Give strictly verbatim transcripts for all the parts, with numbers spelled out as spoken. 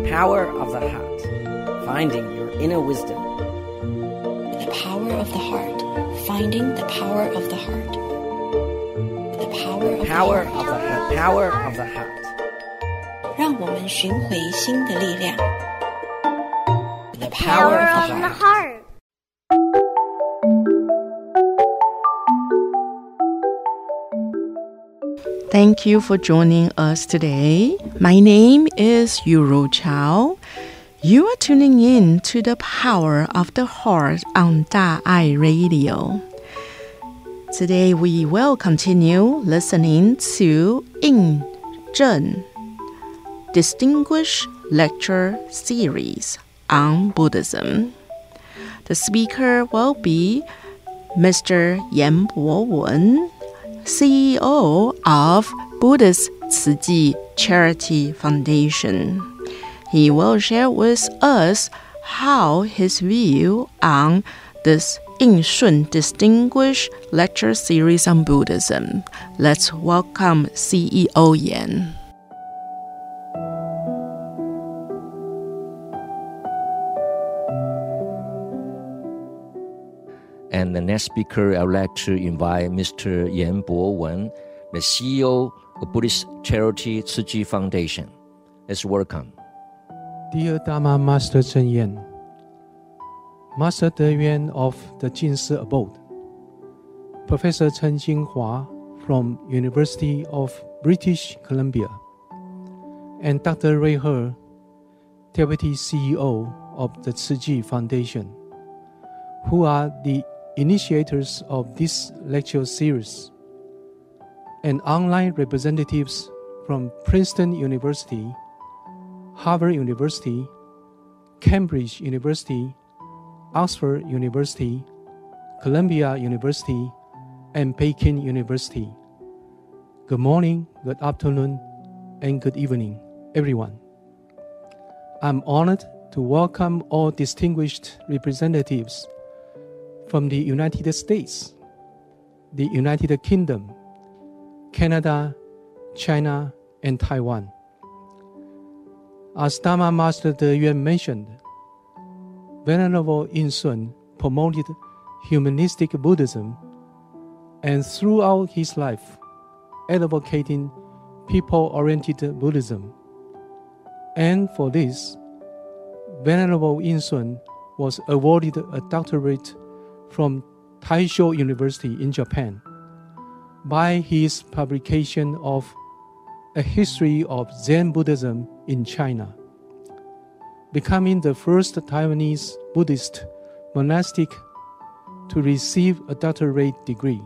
power of the heart, finding your inner wisdom. The power of the heart, finding the power of the heart. The power of Power the of heart. the heart. Power of the heart. 讓我們尋回心的力量。The Power power of of the the heart. Thank you for joining us today. My name is Yuro Chow. You are tuning in to the Power of the Heart on 大愛 Radio. Today we will continue listening to Yin Zhen Distinguished Lecture Series on Buddhism. The speaker will be Mister Yan Bo-wen, C E O of Buddhist Tzu Chi Charity Foundation. He will share with us how his view on this Yin Shun Distinguished Lecture Series on Buddhism. Let's welcome C E O Yan. And the next speaker, I would like to invite Mister Yan Bo-wen, the C E O of Buddhist Charity Tzu Chi Foundation. Let's welcome. Dear Dharma Master Cheng Yen, Master De Yuan of the Jin Si Abode, Professor Chen Jinghua from University of British Columbia, and Doctor Ray He, Deputy C E O of the Tzu Chi Foundation, who are the initiators of this lecture series, and online representatives from Princeton University, Harvard University, Cambridge University, Oxford University, Columbia University, and Peking University. Good morning, good afternoon, and good evening, everyone. I'm honored to welcome all distinguished representatives from the United States, the United Kingdom, Canada, China, and Taiwan. As Dharma Master De Yuan mentioned, Venerable Yin Shun promoted humanistic Buddhism and throughout his life advocating people-oriented Buddhism. And for this, Venerable Yin Shun was awarded a doctorate from Taisho University in Japan by his publication of A History of Zen Buddhism in China, becoming the first Taiwanese Buddhist monastic to receive a doctorate degree.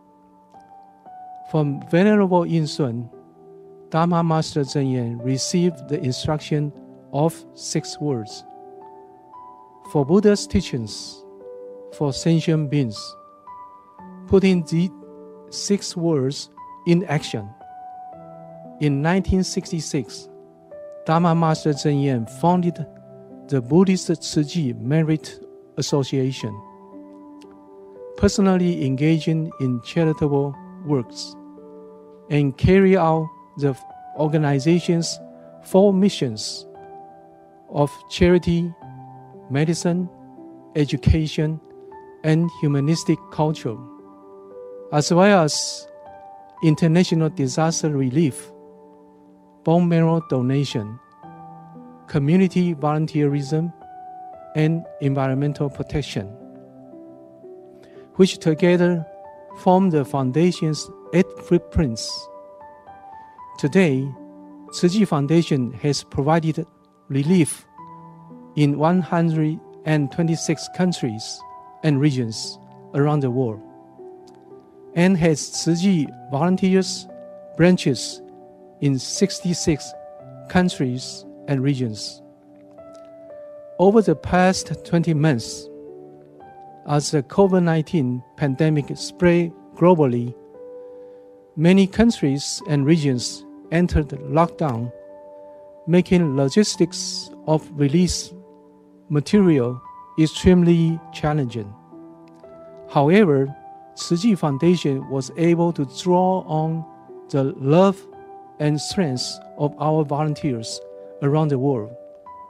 From Venerable Yin Shun, Dharma Master Cheng Yen received the instruction of six words. For Buddha's teachings, for sentient beings, putting the six words in action. In nineteen sixty-six, Dharma Master Cheng Yen founded the Buddhist Tzu Chi Merit Association, personally engaging in charitable works, and carry out the organization's four missions of charity, medicine, education, and humanistic culture, as well as international disaster relief, bone marrow donation, community volunteerism, and environmental protection, which together form the foundation's eight footprints. Today, Tzu Chi Foundation has provided relief in one hundred twenty-six countries and regions around the world, and has Tzu Chi volunteers branches in sixty-six countries and regions. Over the past twenty months, as the COVID nineteen pandemic spread globally, many countries and regions entered lockdown, making logistics of release material extremely challenging. However, Tzu Chi Foundation was able to draw on the love and strength of our volunteers around the world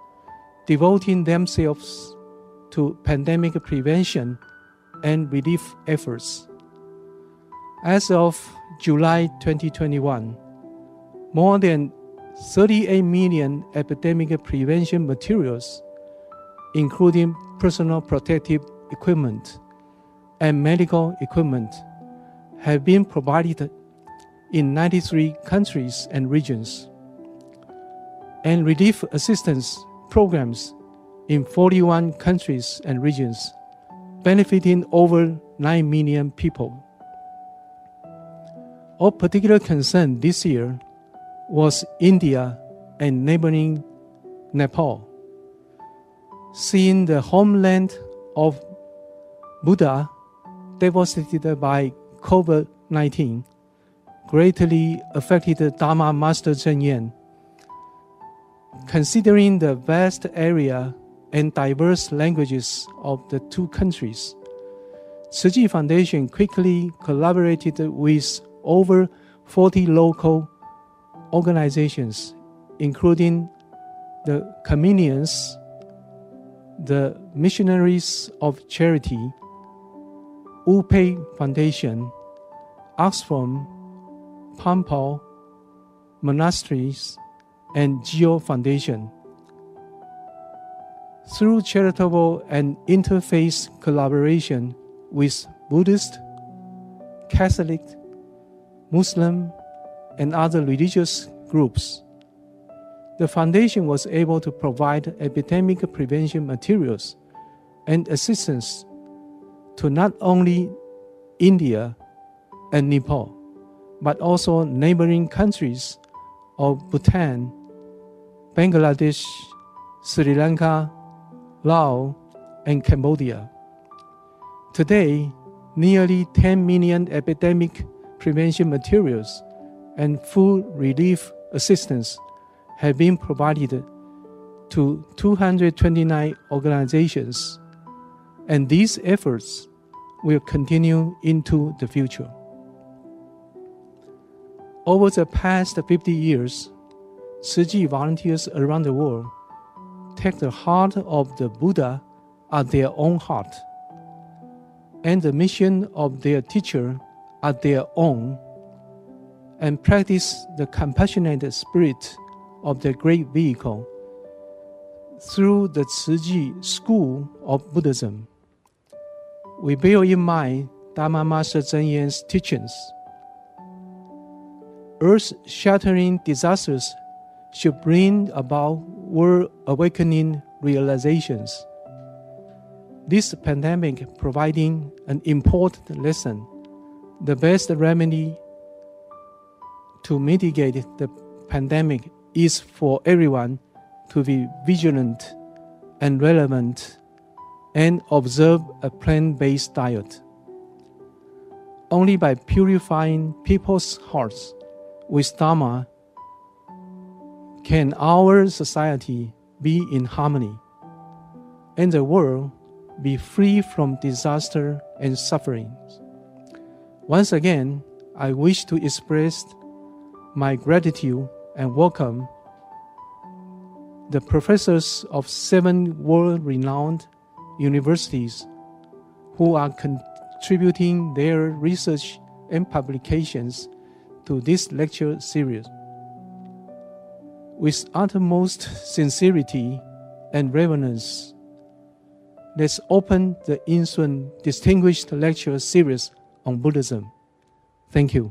devoting themselves to pandemic prevention and relief efforts. As of July twenty twenty-one, more than thirty-eight million epidemic prevention materials, including personal protective equipment and medical equipment, have been provided in ninety-three countries and regions, and relief assistance programs in forty-one countries and regions, benefiting over nine million people. Of particular concern this year was India and neighboring Nepal. Seeing the homeland of Buddha devastated by COVID nineteen greatly affected Dharma Master Cheng Yen. Considering the vast area and diverse languages of the two countries, Tzu Chi Foundation quickly collaborated with over forty local organizations, including the Communions, the Missionaries of Charity, Wu Pei Foundation, Oxfam, Pampal Monasteries, and Geo Foundation. Through charitable and interfaith collaboration with Buddhist, Catholic, Muslim, and other religious groups, the foundation was able to provide epidemic prevention materials and assistance to not only India and Nepal, but also neighboring countries of Bhutan, Bangladesh, Sri Lanka, Laos, and Cambodia. Today, nearly ten million epidemic prevention materials and food relief assistance have been provided to two hundred twenty-nine organizations, and these efforts will continue into the future. Over the past fifty years, Tzu Chi volunteers around the world take the heart of the Buddha at their own heart, and the mission of their teacher at their own, and practice the compassionate spirit of the great vehicle through the Tzu Chi School of Buddhism. We bear in mind Dharma Master Cheng Yen's teachings. Earth-shattering disasters should bring about world-awakening realizations. This pandemic providing an important lesson, the best remedy to mitigate the pandemic is for everyone to be vigilant and relevant and observe a plant-based diet. Only by purifying people's hearts with Dharma can our society be in harmony and the world be free from disaster and suffering. Once again, I wish to express my gratitude and welcome the professors of seven world-renowned universities who are contributing their research and publications to this lecture series. With utmost sincerity and reverence, let's open the ensuing distinguished lecture series on Buddhism. Thank you.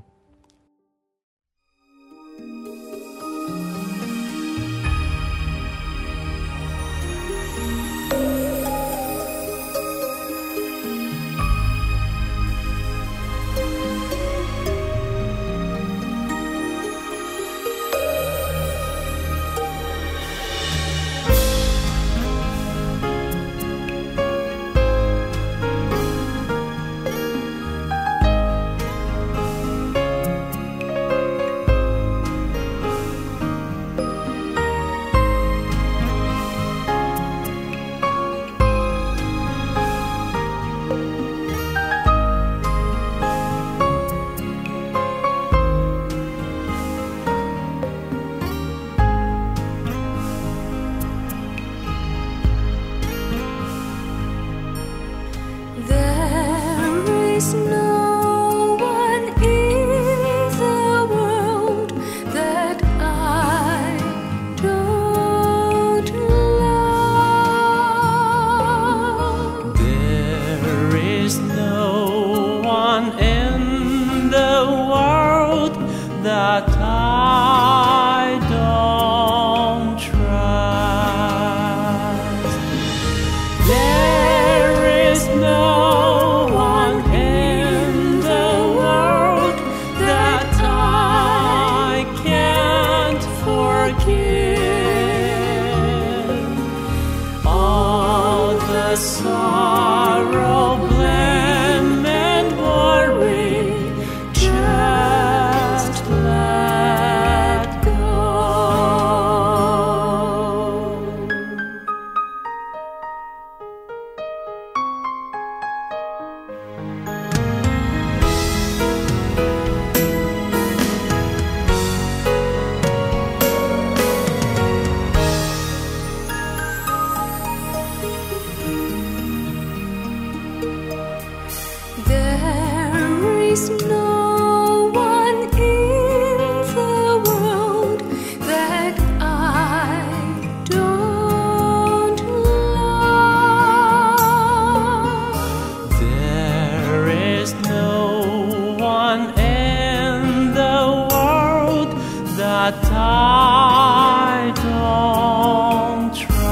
but I don't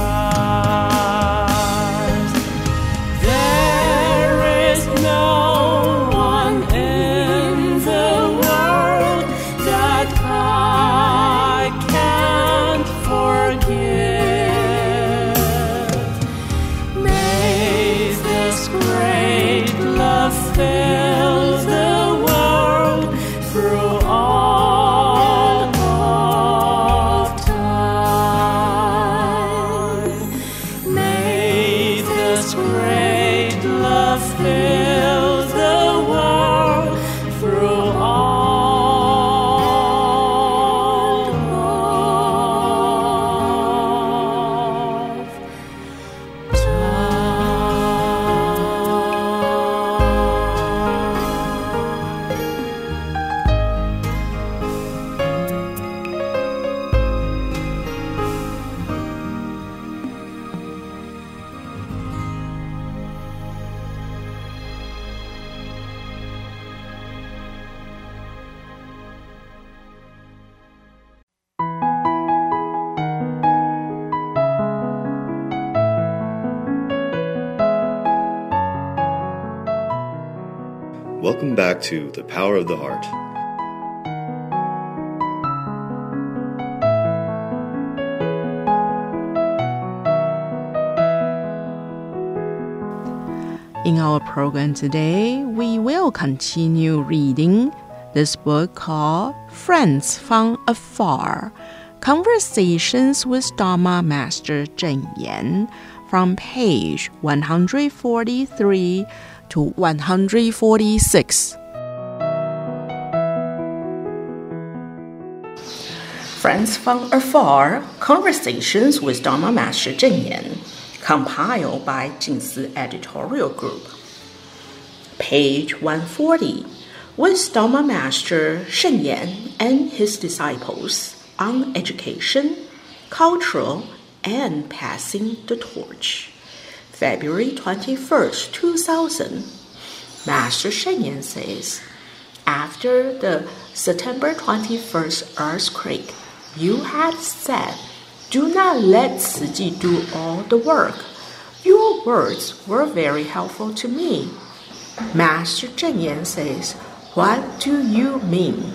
trust. There is no one in the world that I can't forget. May this great love fill the world through all of time. May this great love fill the world through all of Welcome back to The Power of the Heart. In our program today, we will continue reading this book called Friends from Afar, Conversations with Dharma Master Cheng Yen, from page one forty-three to one forty-six. Friends from Afar, Conversations with Dharma Master Cheng Yen, compiled by Jingsi Editorial Group. Page one forty, with Dharma Master Sheng Yen and his disciples on education, cultural, and passing the torch. February twenty-first, two thousand. Master Sheng Yen says, after the September twenty-first earthquake, you had said, do not let Tzu Chi do all the work. Your words were very helpful to me. Master Cheng Yen says, what do you mean?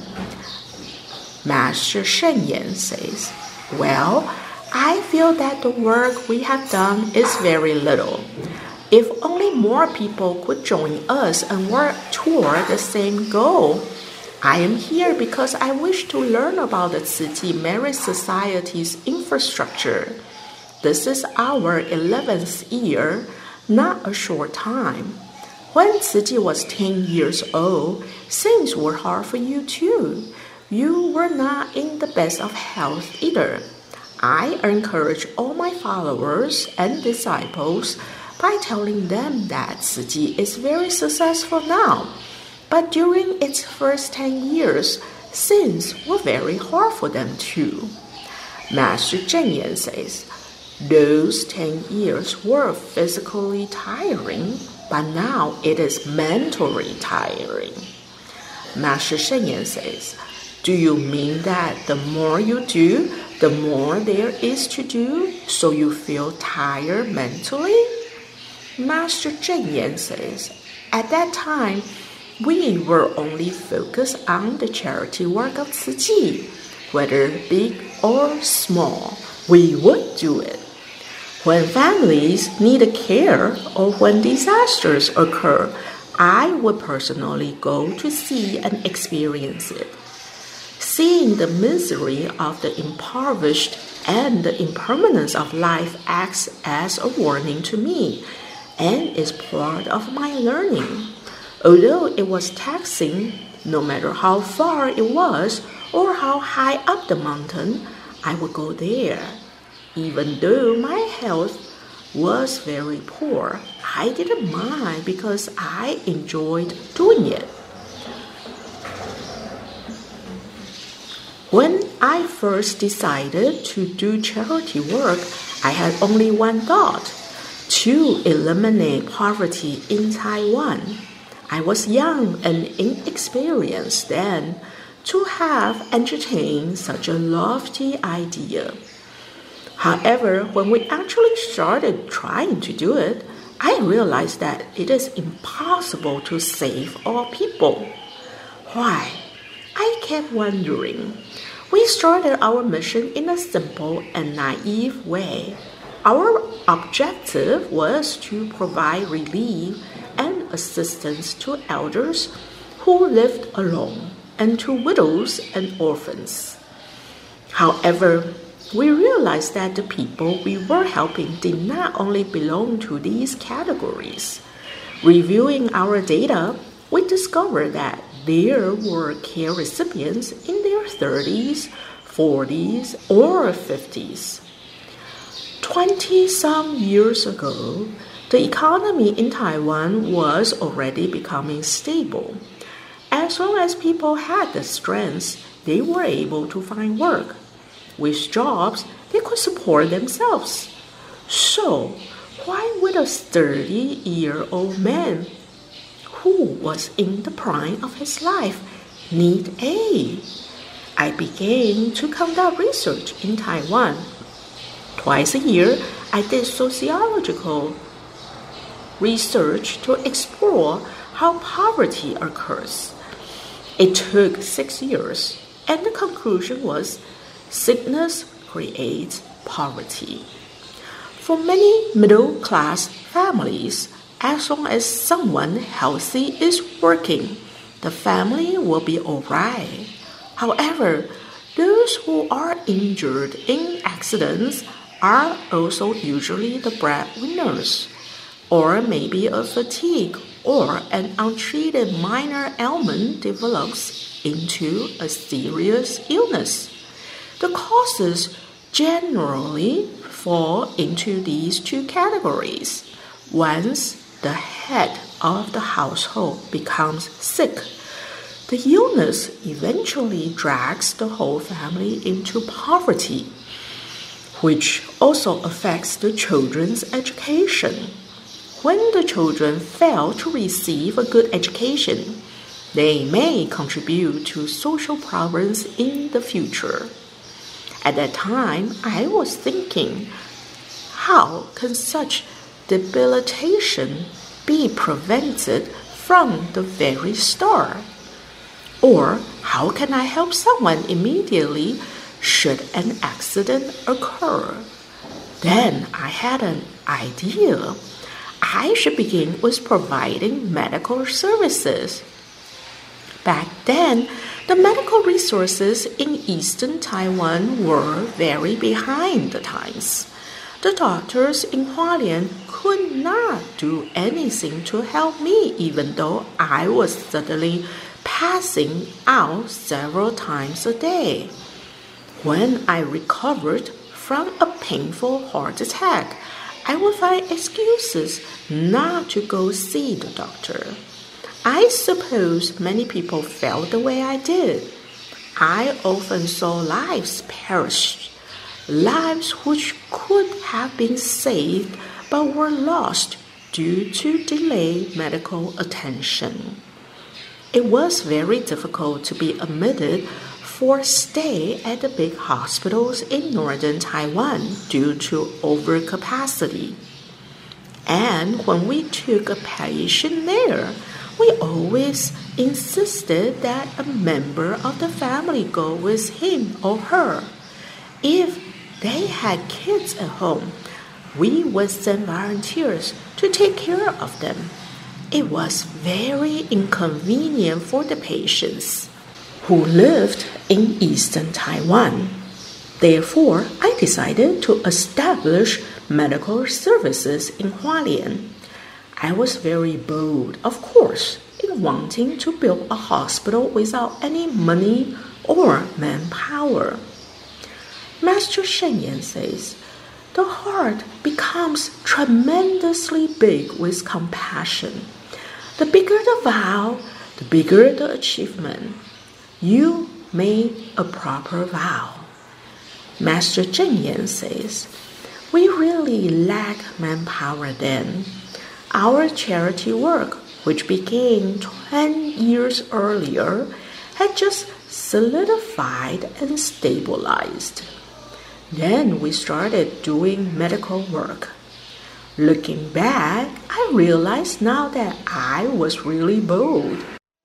Master Sheng Yen says, well, I feel that the work we have done is very little. If only more people could join us and work toward the same goal. I am here because I wish to learn about the Tzu Chi Merit Society's infrastructure. This is our eleventh year, not a short time. When Tzu Chi was ten years old, things were hard for you too. You were not in the best of health either. I encourage all my followers and disciples by telling them that Tzu Chi is very successful now. But during its first ten years, things were very hard for them too. Master Cheng Yen says, those ten years were physically tiring, but now it is mentally tiring. Master Sheng Yen says, do you mean that the more you do, the more there is to do, so you feel tired mentally? Master Cheng Yen says, at that time, we were only focused on the charity work of Tzu Chi. Whether big or small, we would do it. When families need care or when disasters occur, I would personally go to see and experience it. Seeing the misery of the impoverished and the impermanence of life acts as a warning to me and is part of my learning. Although it was taxing, no matter how far it was or how high up the mountain, I would go there. Even though my health was very poor, I didn't mind because I enjoyed doing it. When I first decided to do charity work, I had only one thought: to eliminate poverty in Taiwan. I was young and inexperienced then. to have entertained such a lofty idea. However, when we actually started trying to do it, I realized that it is impossible to save all people. Why? I kept wondering. We started our mission in a simple and naive way. Our objective was to provide relief and assistance to elders who lived alone and to widows and orphans. However, we realized that the people we were helping did not only belong to these categories. Reviewing our data, we discovered that there were care recipients in their thirties, forties, or fifties. Twenty-some years ago, the economy in Taiwan was already becoming stable. As long as people had the strength, they were able to find work. With jobs, they could support themselves. So, why would a thirty-year-old man who was in the prime of his life need aid? I began to conduct research in Taiwan. Twice a year, I did sociological research to explore how poverty occurs. It took six years, and the conclusion was sickness creates poverty. For many middle-class families, as long as someone healthy is working, the family will be all right. However, those who are injured in accidents are also usually the breadwinners, or maybe a fatigue or an untreated minor ailment develops into a serious illness. The causes generally fall into these two categories. Once the head of the household becomes sick, the illness eventually drags the whole family into poverty, which also affects the children's education. When the children fail to receive a good education, they may contribute to social problems in the future. At that time, I was thinking, how can such debilitation be prevented from the very start? Or how can I help someone immediately should an accident occur? Then I had an idea. I should begin with providing medical services. Back then, the medical resources in eastern Taiwan were very behind the times. The doctors in Hualien could not do anything to help me, even though I was suddenly passing out several times a day. When I recovered from a painful heart attack, I would find excuses not to go see the doctor. I suppose many people felt the way I did. I often saw lives perish, lives which could have been saved but were lost due to delayed medical attention. It was very difficult to be admitted for stay at the big hospitals in northern Taiwan due to overcapacity. And when we took a patient there, we always insisted that a member of the family go with him or her. If they had kids at home, we would send volunteers to take care of them. It was very inconvenient for the patients who lived in eastern Taiwan. Therefore, I decided to establish medical services in Hualien. I was very bold, of course, in wanting to build a hospital without any money or manpower. Master Sheng Yen says, the heart becomes tremendously big with compassion. The bigger the vow, the bigger the achievement. You made a proper vow. Master Zheng Yan says, we really lack manpower then. Our charity work, which began ten years earlier, had just solidified and stabilized. Then we started doing medical work. Looking back, I realize now that I was really bold.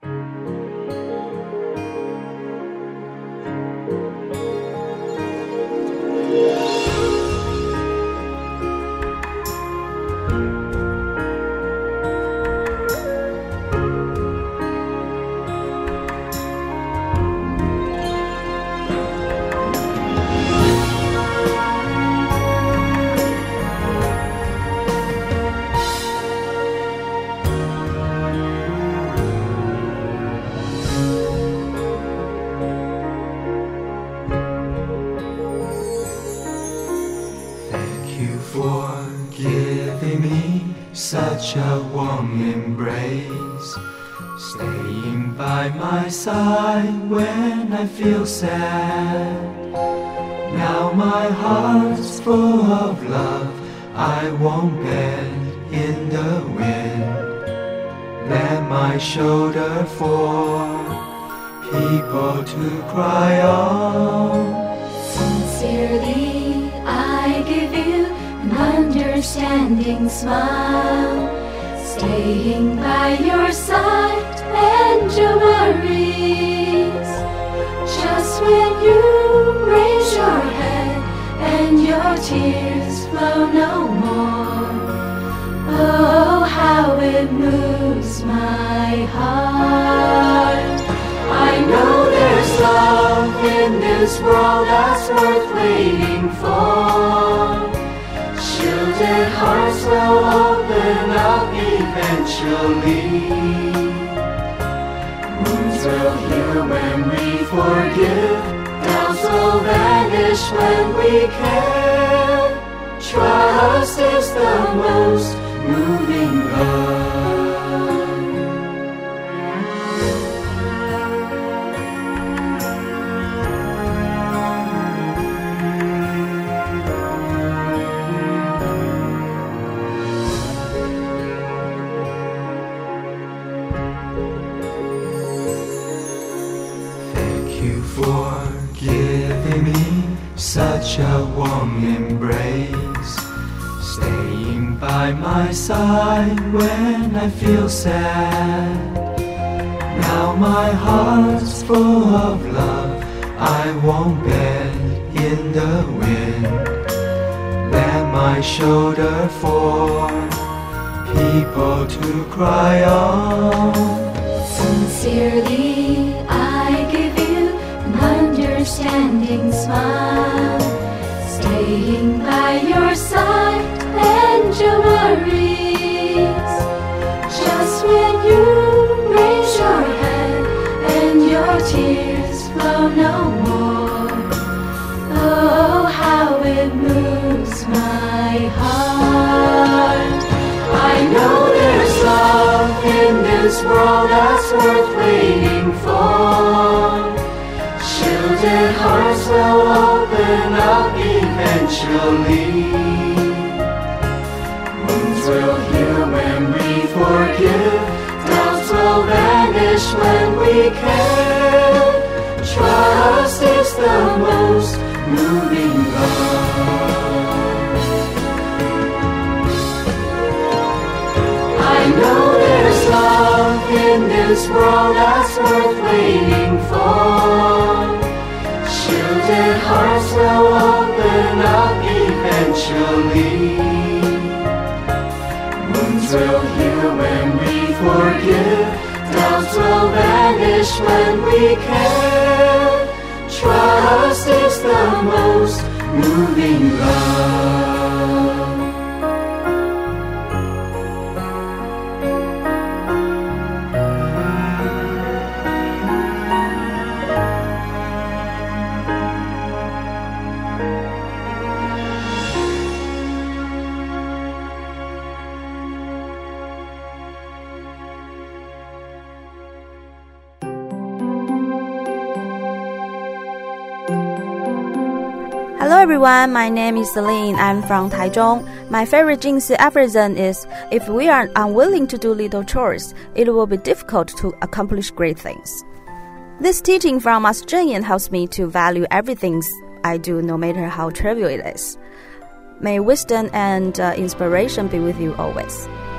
Such a warm embrace, staying by my side when I feel sad. Now my heart's full of love, I won't bend in the wind. Lend my shoulder for people to cry on. Sincerely, I give you an understanding smile, staying by your side and your worries. Just when you raise your head and your tears flow no more, oh, how it moves my heart. I know there's love in this world that's worth waiting for. Shielded hearts will open up eventually. Wounds will heal when we forgive. Doubts will vanish when we care. Trust is the most moving love. For giving me such a warm embrace, staying by my side when I feel sad. Now my heart's full of love, I won't bend in the wind. Lend my shoulder for people to cry on. Sincerely, I give you an understanding smile, staying by your side and your worries. Just when you raise your head and your tears flow no more, oh, how it moves my heart. I know there's love in this world that's worth waiting for. Shielded hearts will open up eventually. Wounds will heal when we forgive. Doubts will vanish when we care. Trust is the most moving love. I know there's love in this world that's worth waiting for. Shielded hearts will open up eventually. Wounds will heal when we forgive. Doubts will vanish when we care. Trust is the most moving love. Hello everyone, my name is Celine. I'm from Taichung. My favorite Jingsi aphorism is, if we are unwilling to do little chores, it will be difficult to accomplish great things. This teaching from Master Cheng Yen helps me to value everything I do, no matter how trivial it is. May wisdom and uh, inspiration be with you always.